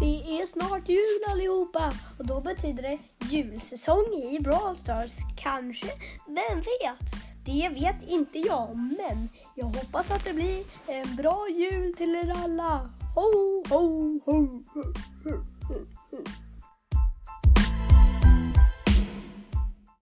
Det är snart jul allihopa och då betyder det julsäsong i Brawl Stars. Kanske, vem vet? Det vet inte jag, men jag hoppas att det blir en bra jul till er alla. Ho, ho, ho, ho, ho, ho.